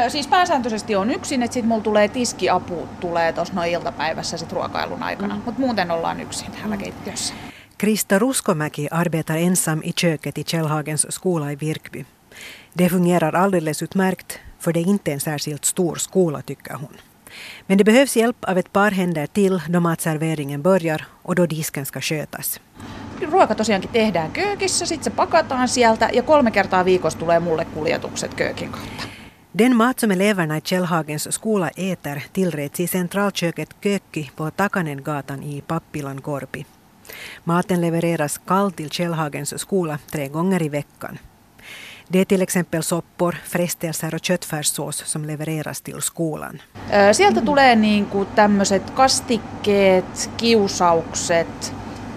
Siis pääsääntöisesti on yksin, että sitten mulla tulee tiskiapu tulee tuossa noin iltapäivässä sit ruokailun aikana. Mutta muuten ollaan yksin täällä keittiössä. Krista Ruskomäki arbetar ensam i köket i Källhagens skola i Virkby. Det fungerar alldeles utmärkt, för det är inte en särskilt stor skola, tycker hon. Men det behövs hjälp av ett par händer till då matserveringen börjar och då disken ska skötas. Ruoka tosiaankin tehdään köökissä, sitten se pakataan sieltä ja 3 kertaa viikossa tulee mulle kuljetukset köökin kautta. Den mat som eleverna i Källhagens skola äter tillreds i centralköket Kökki på Takanengatan i Pappilan Korpi. Maten levereras kall till Källhagens skola 3 gånger i veckan. Det är till exempel soppor, frestelser och köttfärssås som levereras till skolan. Sieltä tulee niinku tämmöiset kastikkeet, kiusaukset,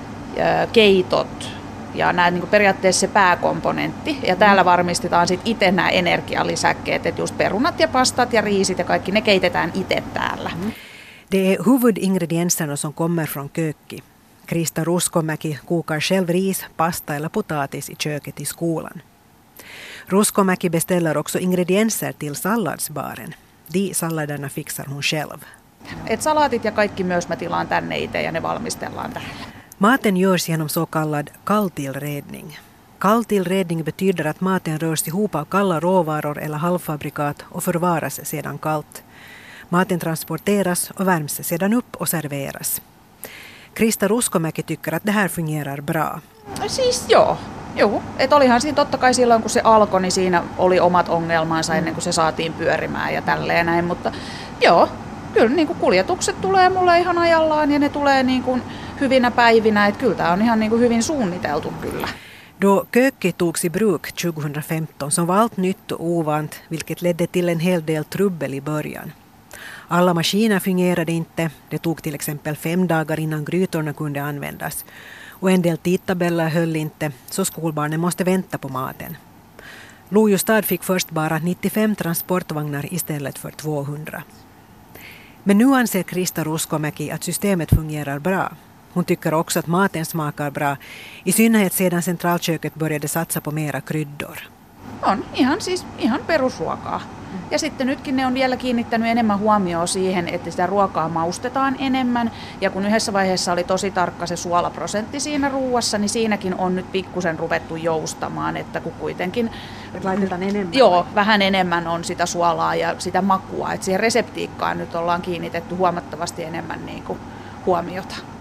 keitot ja nämä niinku periaatteessa se pääkomponentti. Ja täällä varmistetaan sitten itse nämä energialisäkkeet, että just perunat ja pastat ja riisit ja kaikki ne keitetään itse täällä. Det är huvudingredienserna som kommer från Kökki. Krista Ruskomäki kokar själv ris, pasta eller potatis i köket i skolan. Ruskomäki beställer också ingredienser till salladsbaren. De salladerna fixar hon själv. Et salaatit ja kaikki myös mä tilaan tänne itse ja ne valmistellaan täällä. Maten görs genom så kallad kalltillredning. Kalltillredning betyder att maten rörs ihop av kalla råvaror eller halvfabrikat och förvaras sedan kallt. Maten transporteras och värms sedan upp och serveras. Krista Ruskomäki tycker att det här fungerar bra. Siis joo. Että olihan siinä totta kai silloin kun se alkoi, niin siinä oli omat ongelmansa ennen kuin se saatiin pyörimään ja tälleen näin. Mutta joo, kyllä niin kuin kuljetukset tulee mulle ihan ajallaan ja ne tulee niin kuin hyvinä päivinä. Että kyllä tämä on ihan niin kuin hyvin suunniteltu kyllä. Då Kökki togs i bruk 2015 som var allt nytt och ovant, vilket ledde till en hel del trubbel i början. Alla maskiner fungerade inte. Det tog till exempel 5 dagar innan grytorna kunde användas. Och en del tidtabeller höll inte, så skolbarnen måste vänta på maten. Lojustad fick först bara 95 transportvagnar istället för 200. Men nu anser Krista Ruskomäki att systemet fungerar bra. Hon tycker också att maten smakar bra, i synnerhet sedan centralköket började satsa på mera kryddor. On ihan perusruokaa. Ja sitten nytkin ne on vielä kiinnittänyt enemmän huomioon siihen, että sitä ruokaa maustetaan enemmän. Ja kun yhdessä vaiheessa oli tosi tarkka se suolaprosentti siinä ruuassa, niin siinäkin on nyt pikkusen ruvettu joustamaan, että kun kuitenkin laitetaan enemmän. Joo, vähän enemmän on sitä suolaa ja sitä makua. Että siihen reseptiikkaan nyt ollaan kiinnitetty huomattavasti enemmän niin kuin huomiota.